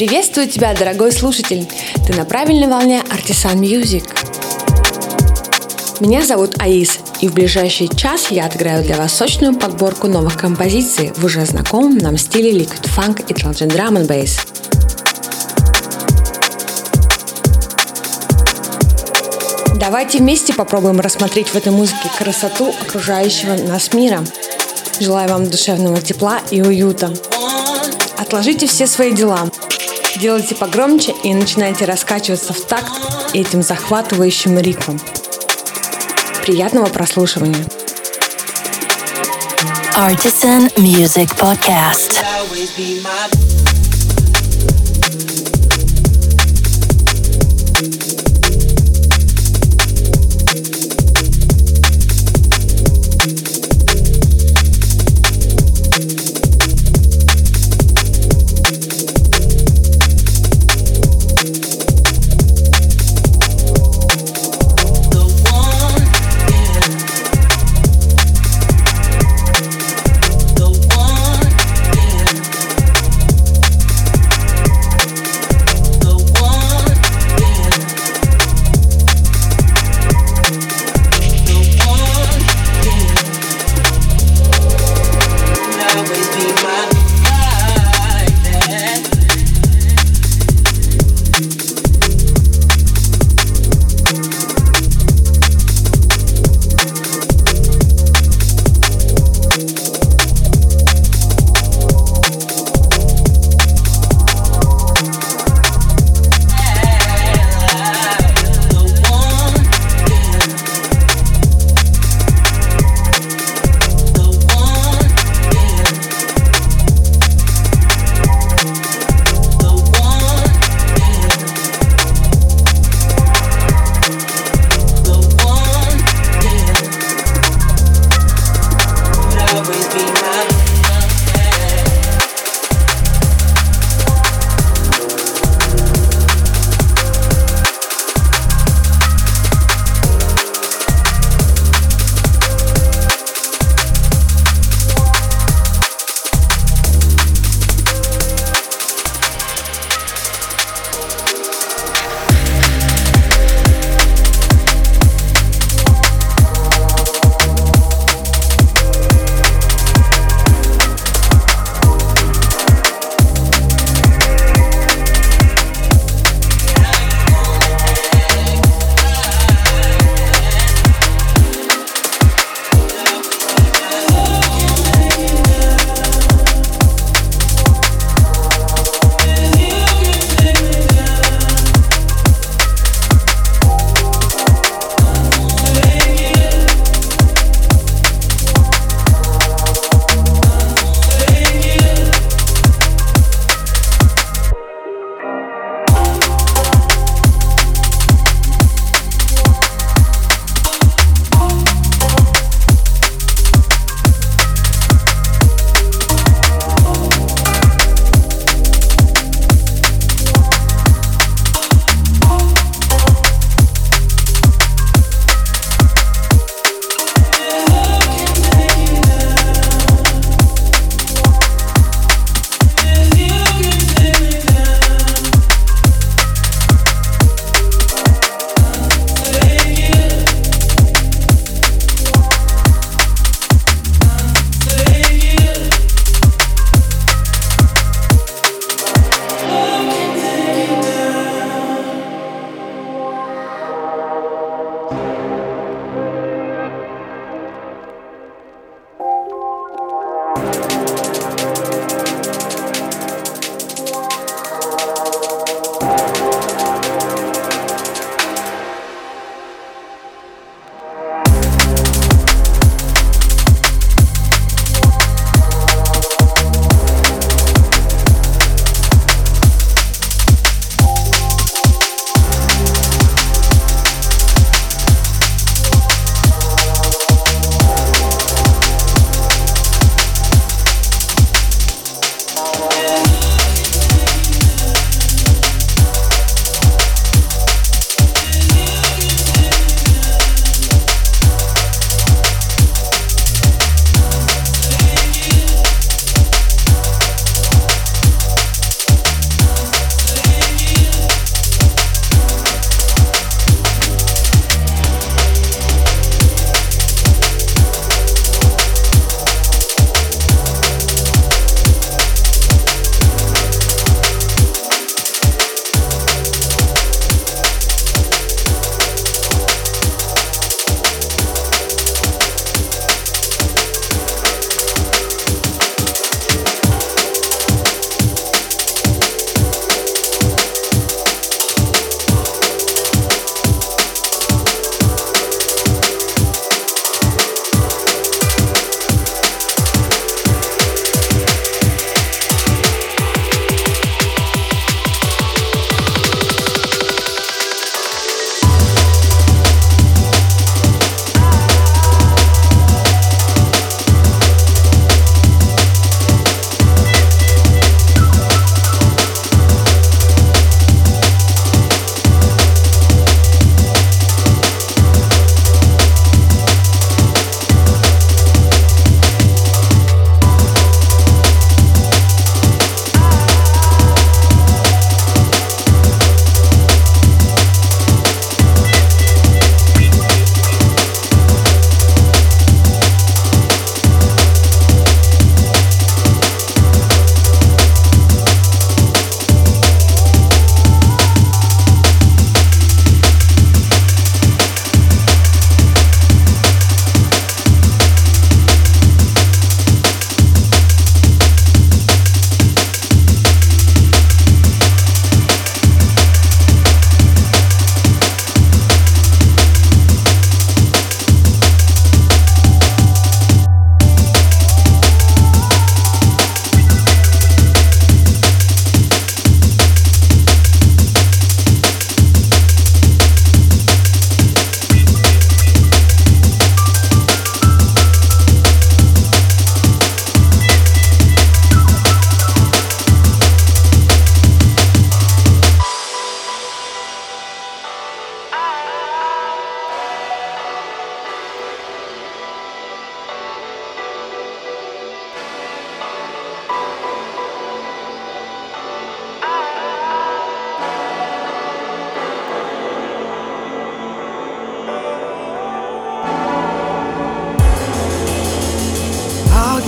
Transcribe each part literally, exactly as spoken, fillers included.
Приветствую тебя, дорогой слушатель! Ты на правильной волне Artisan Music. Меня зовут Аис, и в ближайший час я отыграю для вас сочную подборку новых композиций в уже знакомом нам стиле Liquid Funk и Intelligent Drum and Bass. Давайте вместе попробуем рассмотреть в этой музыке красоту окружающего нас мира. Желаю вам душевного тепла и уюта. Отложите все свои дела. Делайте погромче и начинайте раскачиваться в такт этим захватывающим ритмом. Приятного прослушивания. Artisan Music Podcast.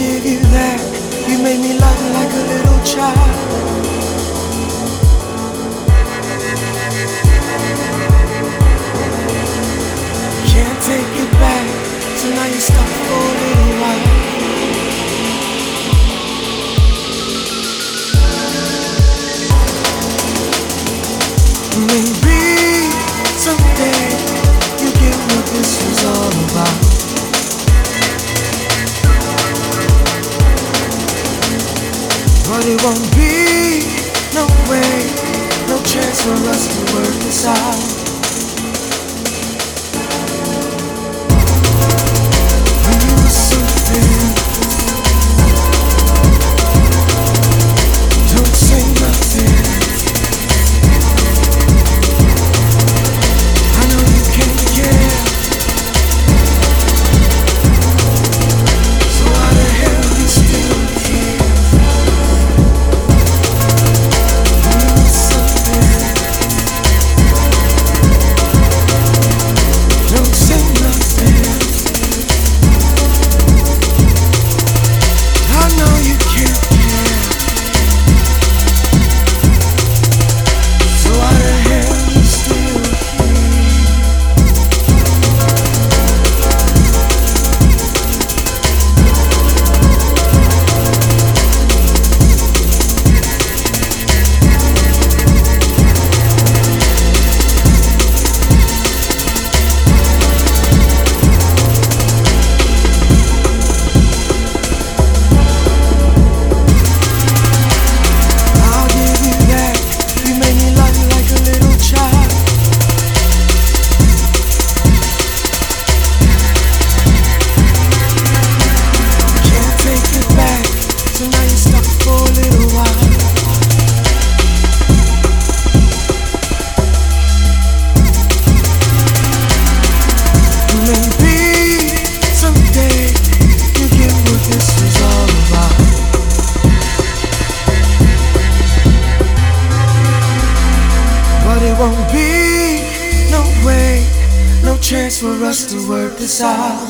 give you that. You made me love you like a little child. Can't take it back, so now you're stuck for a little while. Maybe someday you get what this was all about. But it won't be no way, no chance for us to work this out. You were something. Don't say nothing. I know you can't care. So why the hell you still here? Don't say nothing. I know you can't care. So why the hell you still for us to work this out.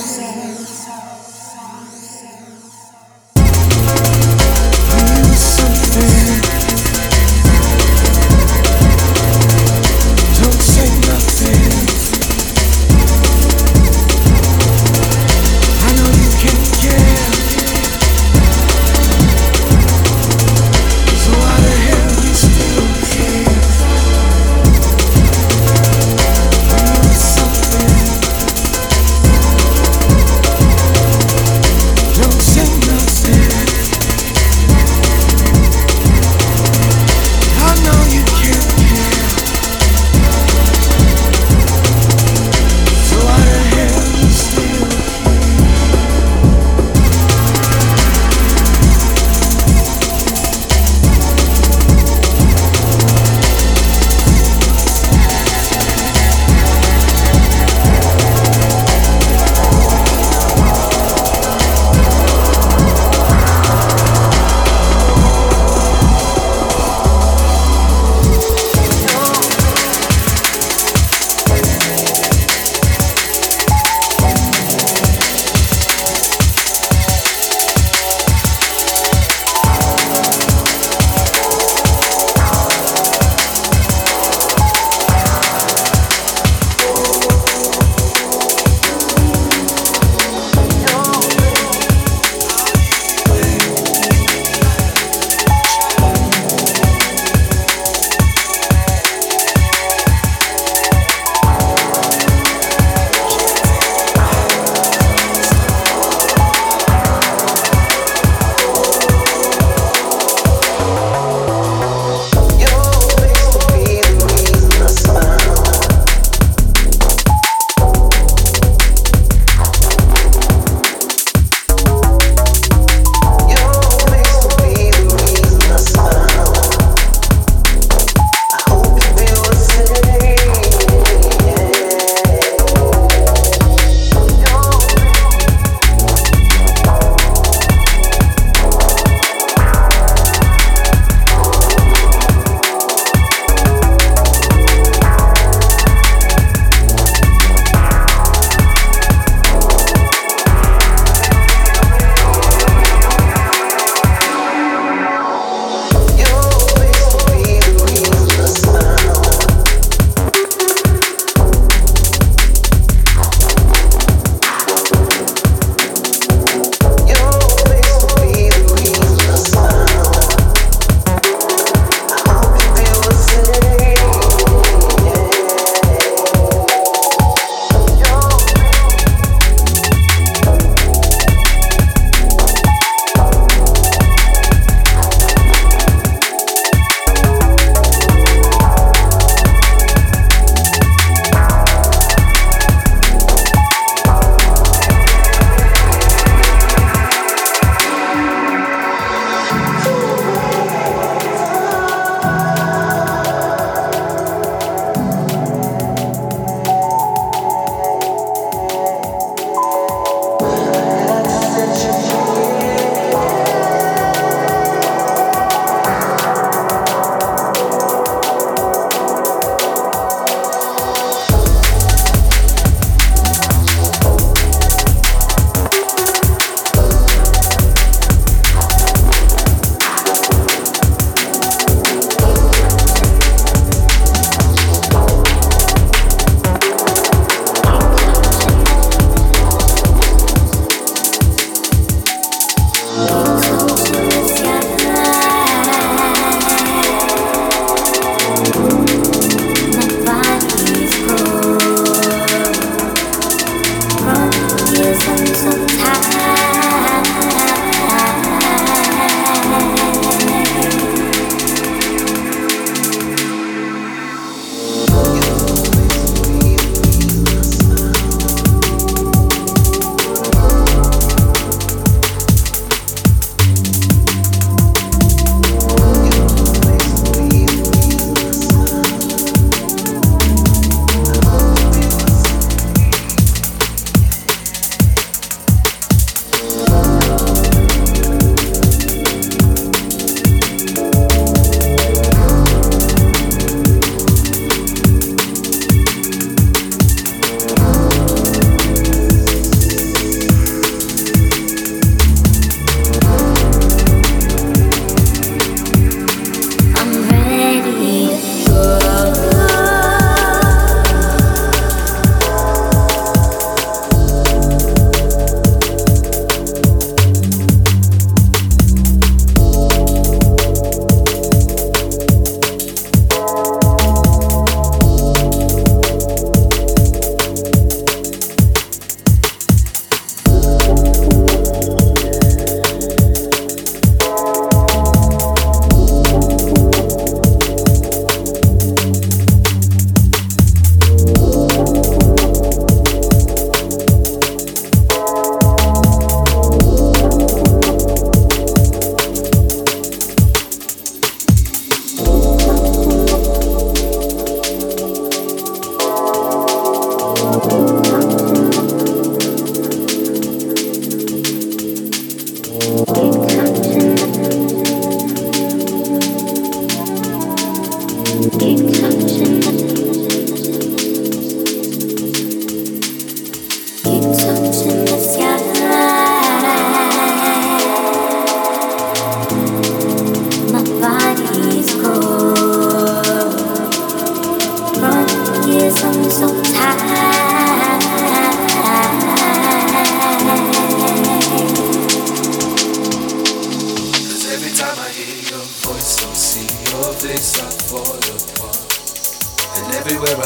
You something. Don't say nothing. I know you can't care. So why the hell you still here? You something.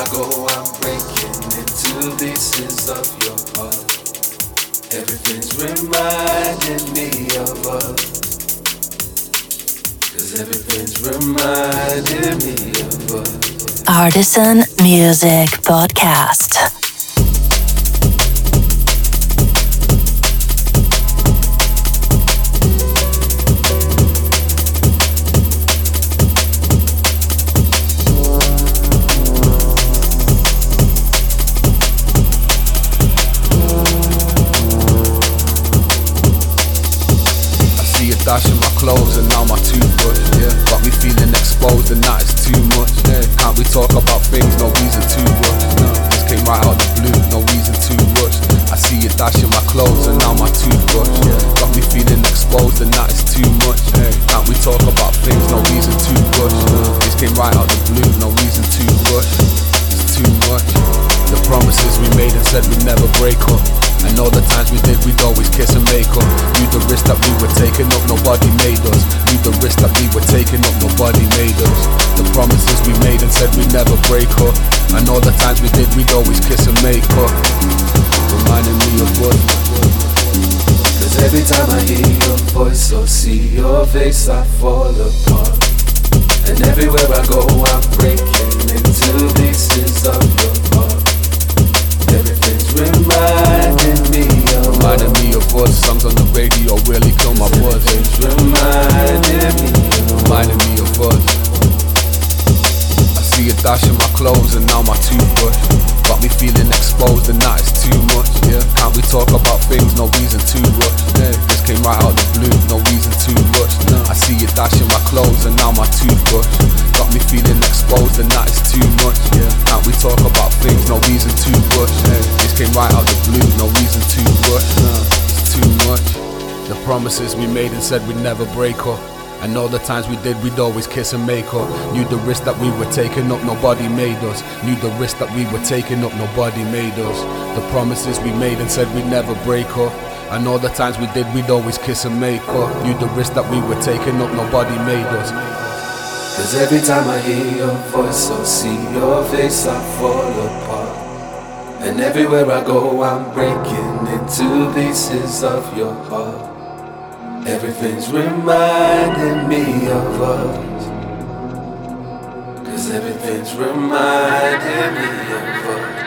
go, I'm breaking into pieces of your heart. Everything's reminding me of us. Cause everything's reminding me of us. Artisan Music Podcast. Dashing my clothes and now my toothbrush, yeah. Got me feeling exposed and that is too much, yeah. Can't we talk about things, no reason to rush, no. This came right out the blue, no reason to rush. I see you dashing my clothes and now my toothbrush, yeah. Got me feeling exposed and that is too much, yeah. Can't we talk about things, no reason to rush, no. This came right out the blue, no reason to rush. It's too much. The promises we made and said we'd never break up. And all the times we did, we'd always kiss and make up. Knew the risk that we were taking up, nobody made us. Knew the risk that we were taking up, nobody made us. The promises we made and said we'd never break up. And all the times we did, we'd always kiss and make up. Reminding me of what. Cause every time I hear your voice or see your face, I fall apart. And everywhere I go, I'm breaking into pieces of your heart. Everything's reminding me of Reminding me of us, songs on the radio really kill my buzz. Everything's reminding me of Reminding me of us. I see you dashing my clothes and now my toothbrush. Got me feeling exposed and that is too much, yeah. Can't we talk about things, no reason to rush, yeah. This came right out the blue, no reason to rush, no. I see you dashing my clothes and now my toothbrush. Got me feeling exposed and that is too much, yeah. Can't we talk about things, no reason to rush, yeah. This came right out the blue, no reason to rush, no. It's too much. The promises we made and said we'd never break up. And all the times we did, we'd always kiss and make up. Knew the risk that we were taking up, nobody made us. Knew the risk that we were taking up, nobody made us. The promises we made and said we'd never break up. And all the times we did, we'd always kiss and make up. Knew the risk that we were taking up, nobody made us. Cause every time I hear your voice or see your face, I fall apart. And everywhere I go, I'm breaking into pieces of your heart. Everything's reminding me of us. Cause everything's reminding me of us.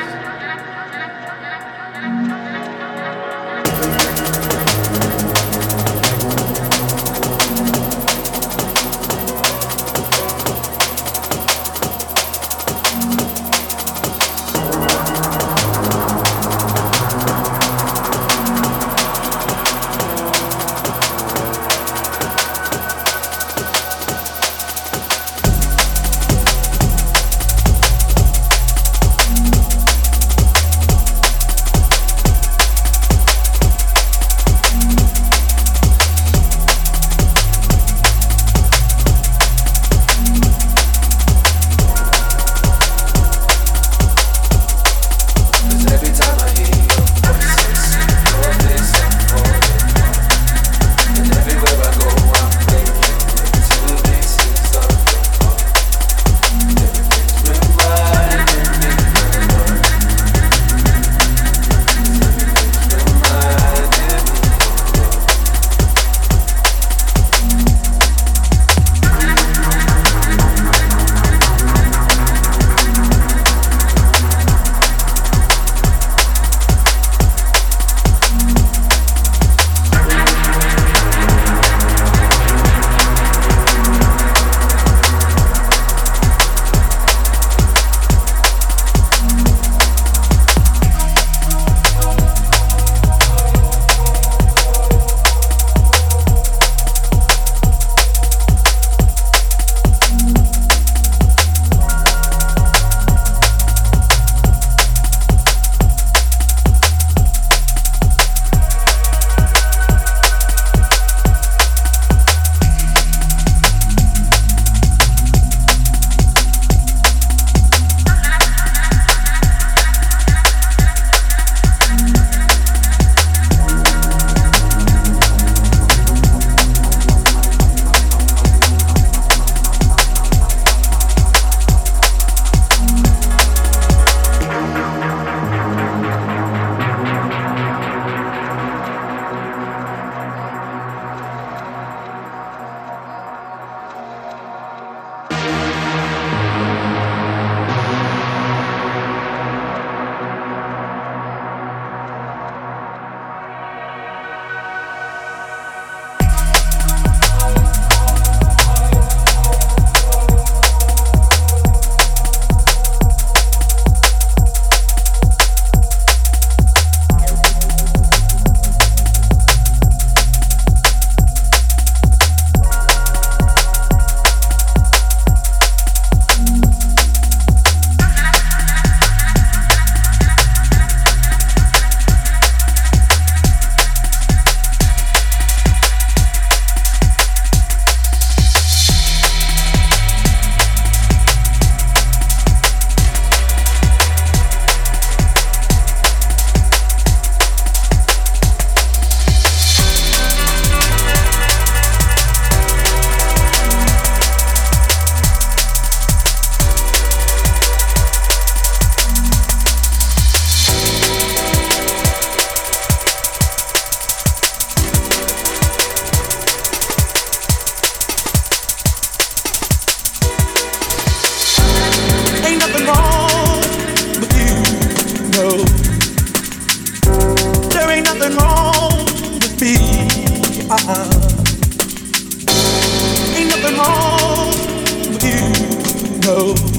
Ain't nothing wrong with you, no.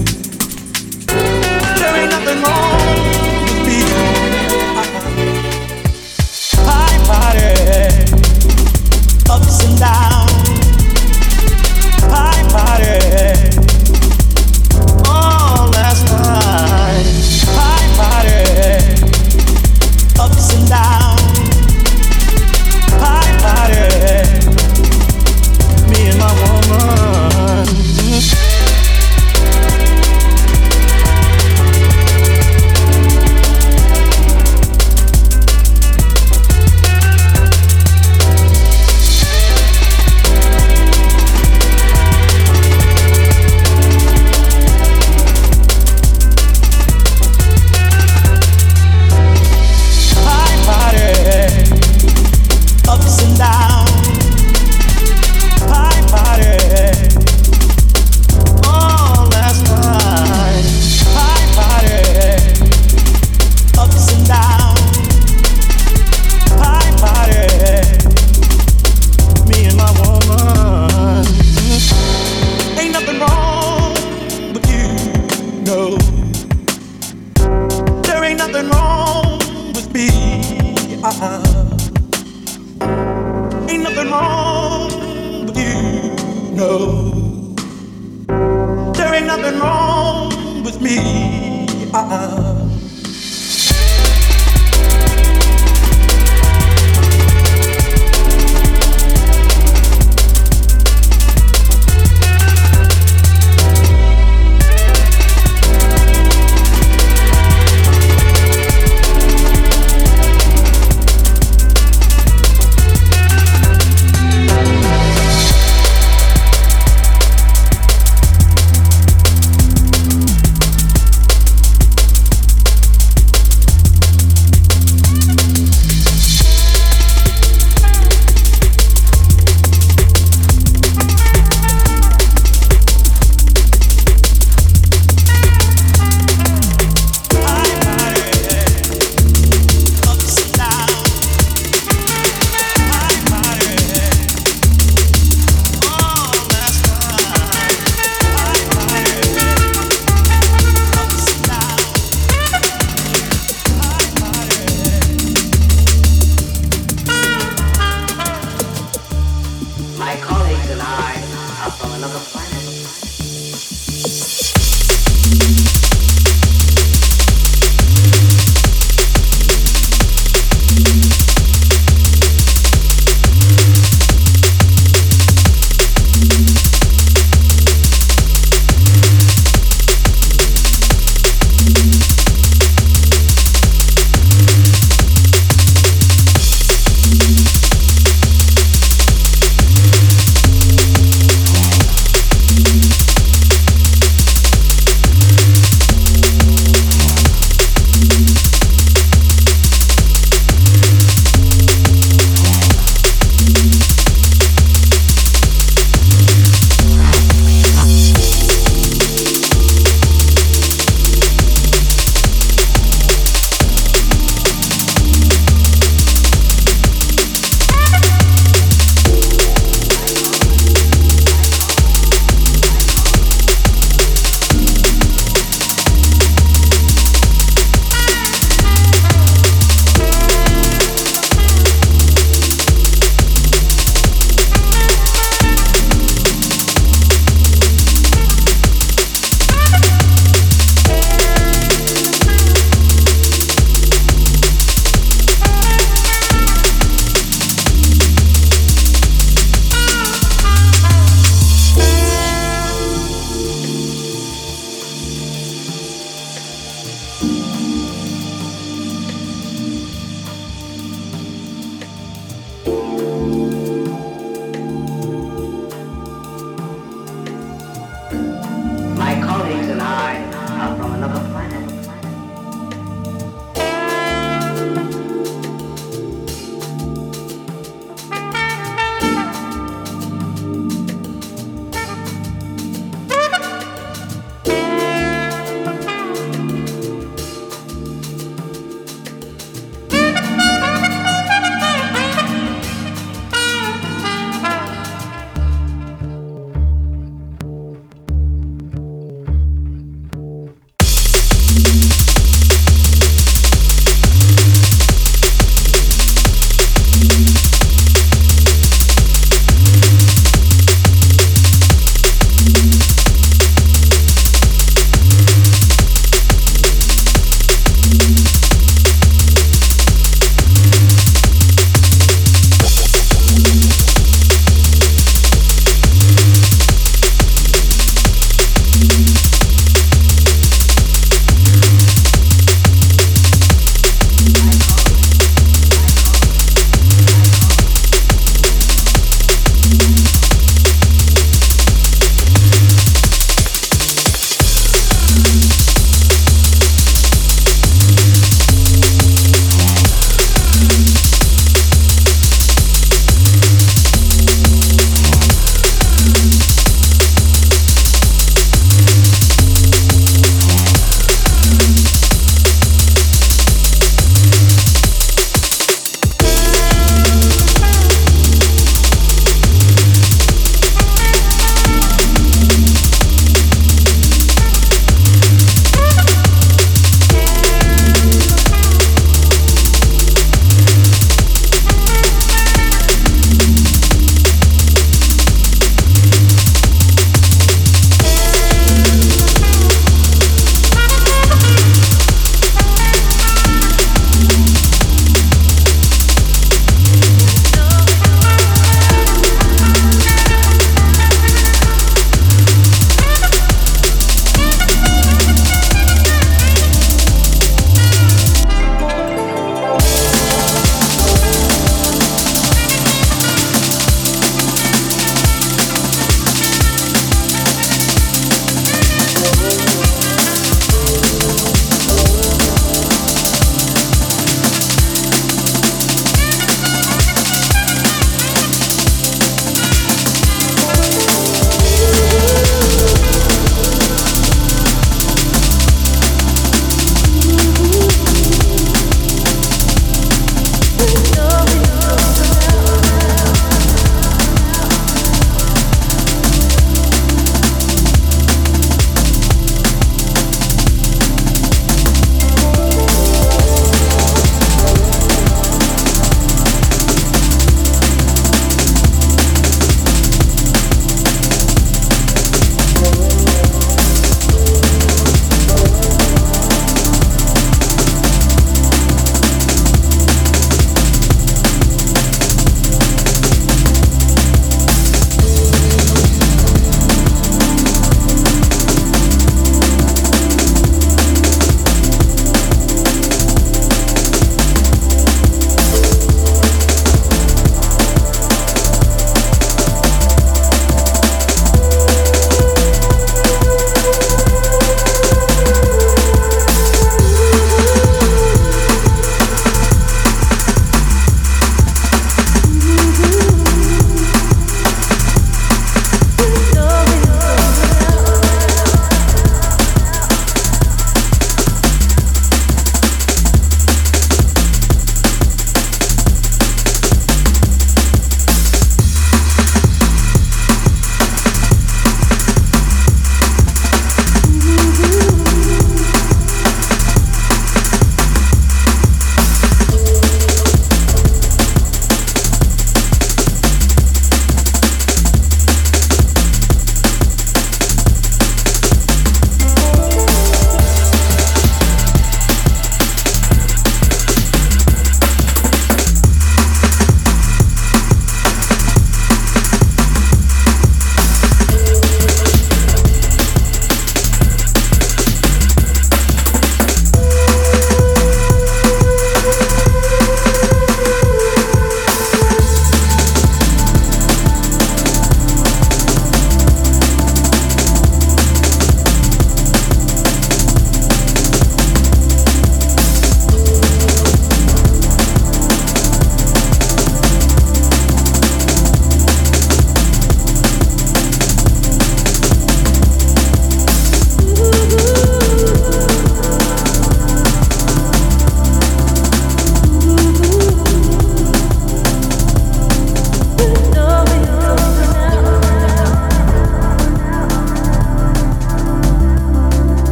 There ain't nothing wrong with me. Party, party, ups and downs. Party, party, all last night. Party, party, ups and downs. Party, party, me and my woman.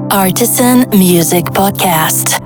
Artisan Music Podcast.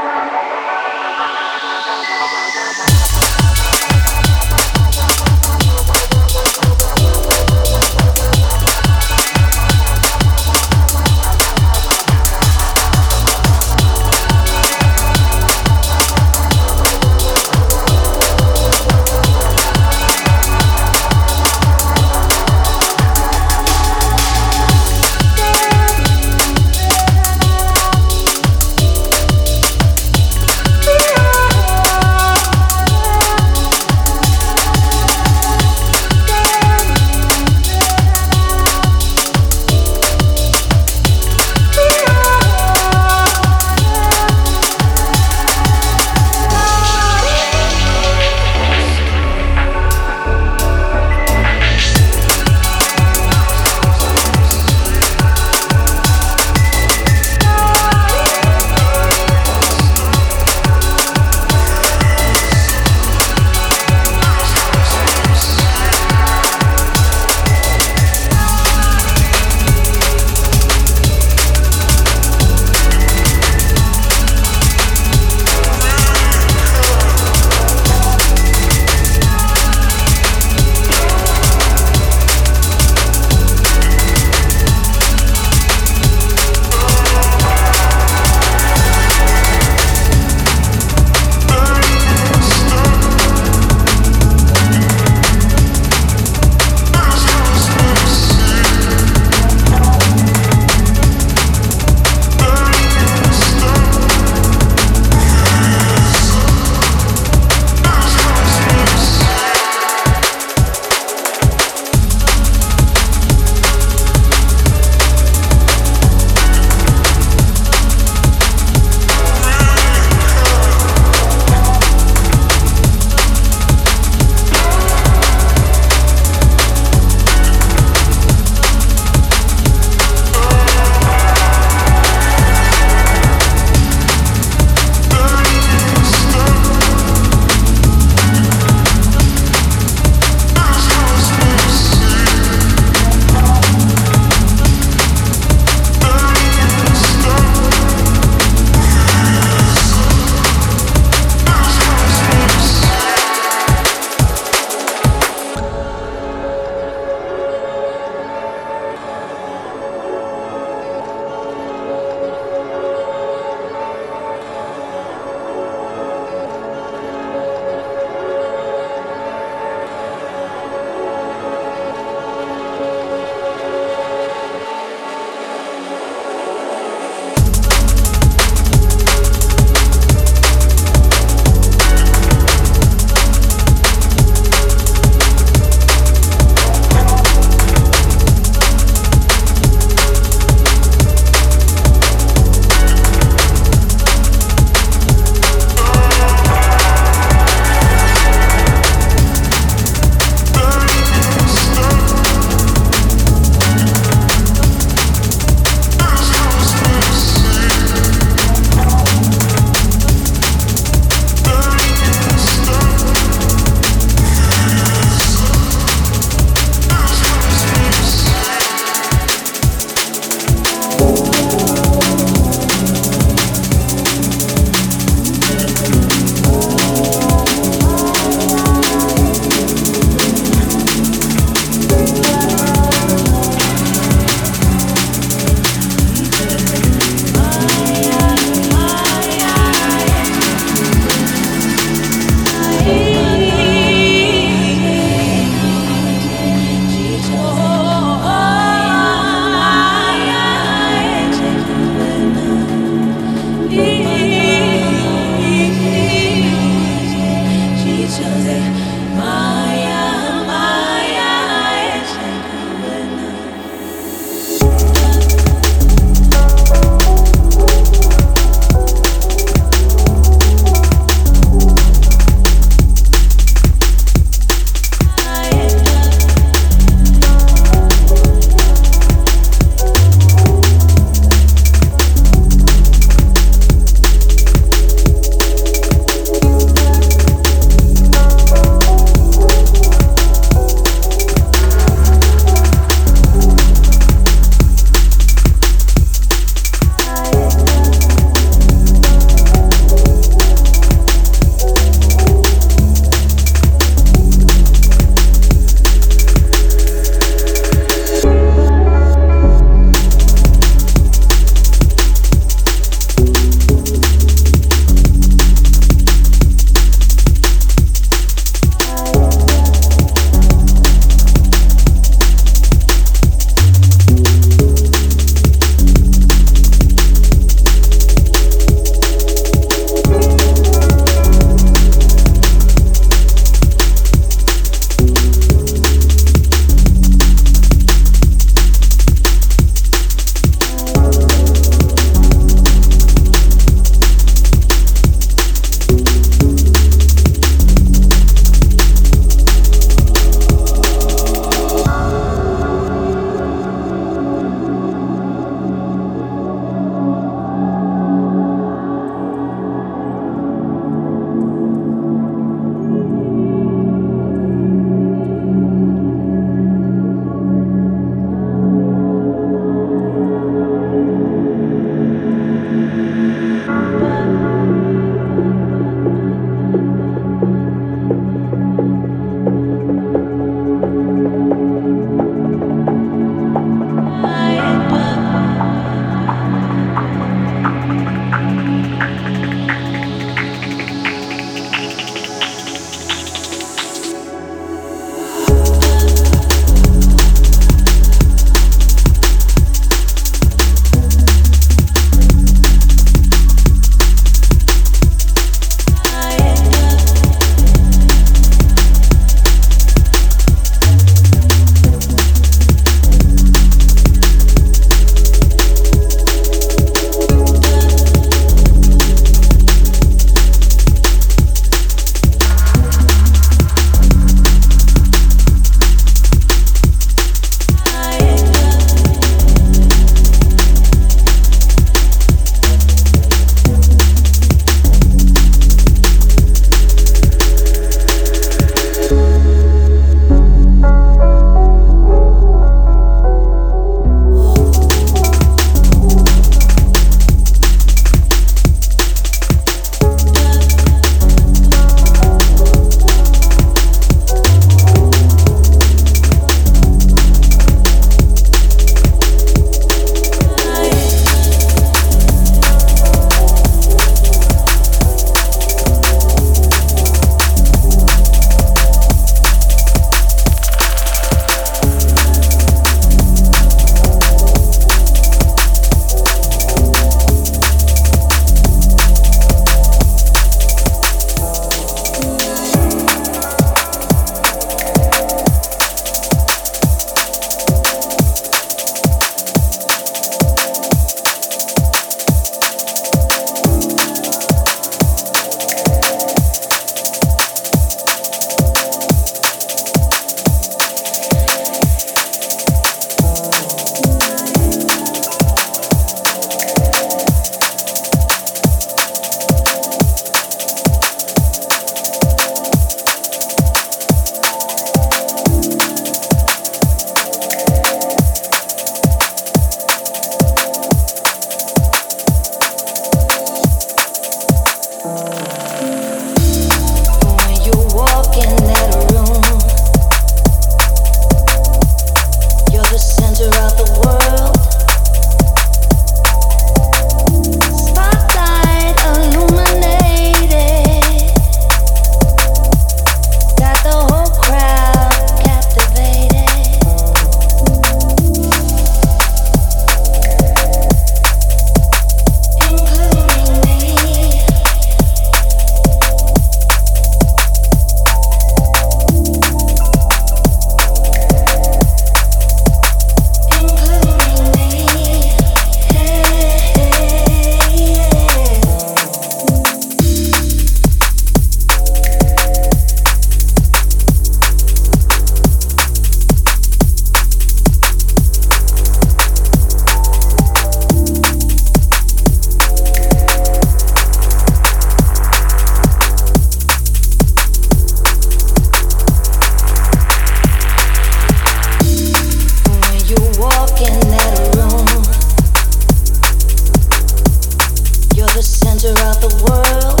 throughout the world.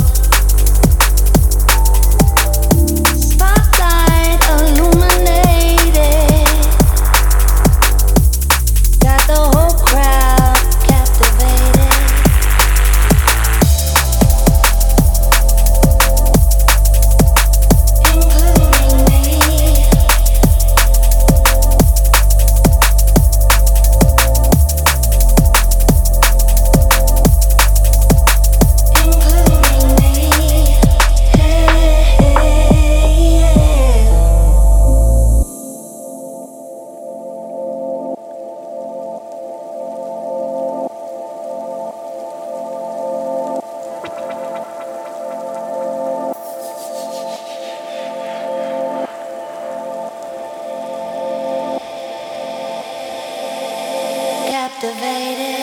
Spotlight illuminated, got the whole crowd captivated. Including me. Captivated.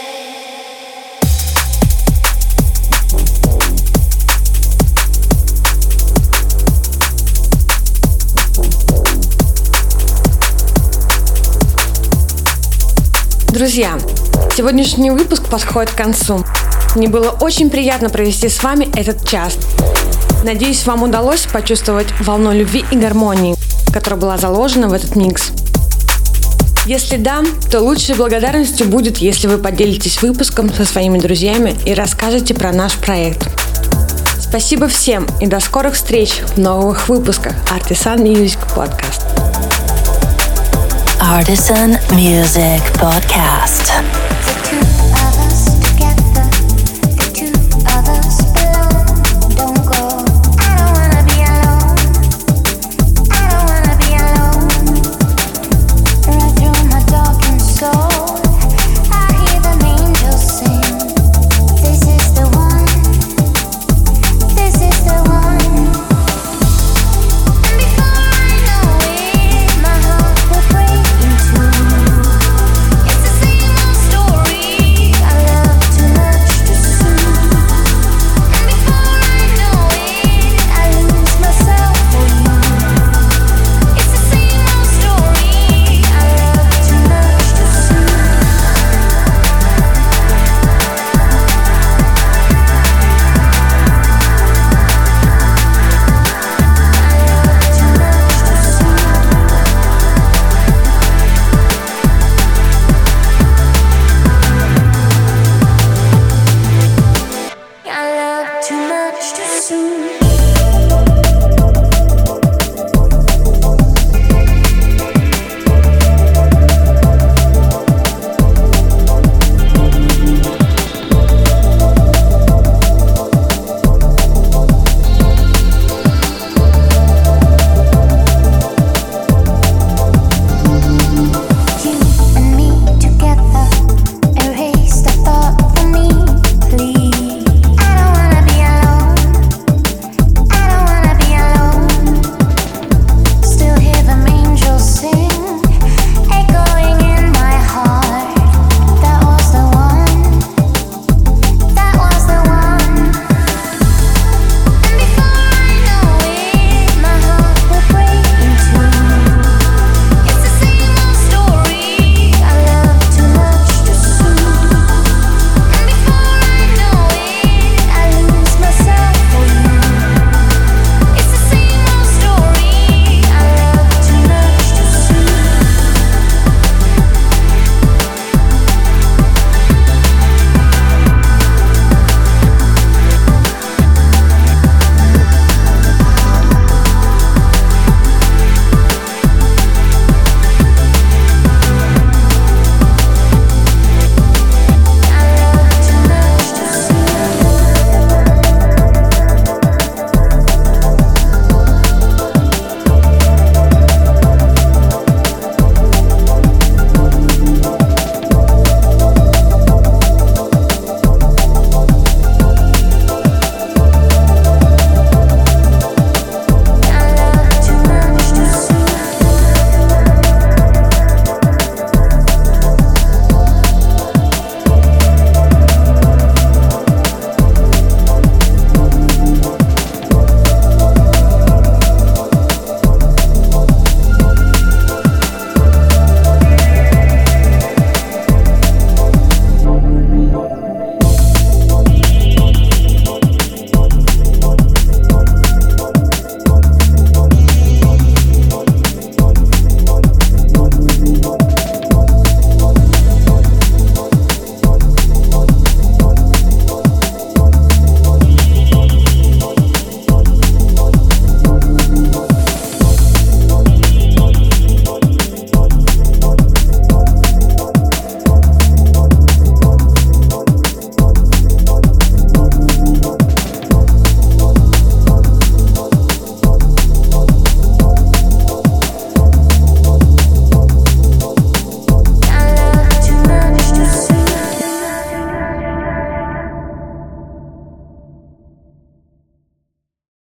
Друзья, сегодняшний выпуск подходит к концу. Мне было очень приятно провести с вами этот час. Надеюсь, вам удалось почувствовать волну любви и гармонии, которая была заложена в этот микс. Если да, то лучшей благодарностью будет, если вы поделитесь выпуском со своими друзьями и расскажете про наш проект. Спасибо всем и до скорых встреч в новых выпусках Artisan Music Podcast. Artisan Music Podcast.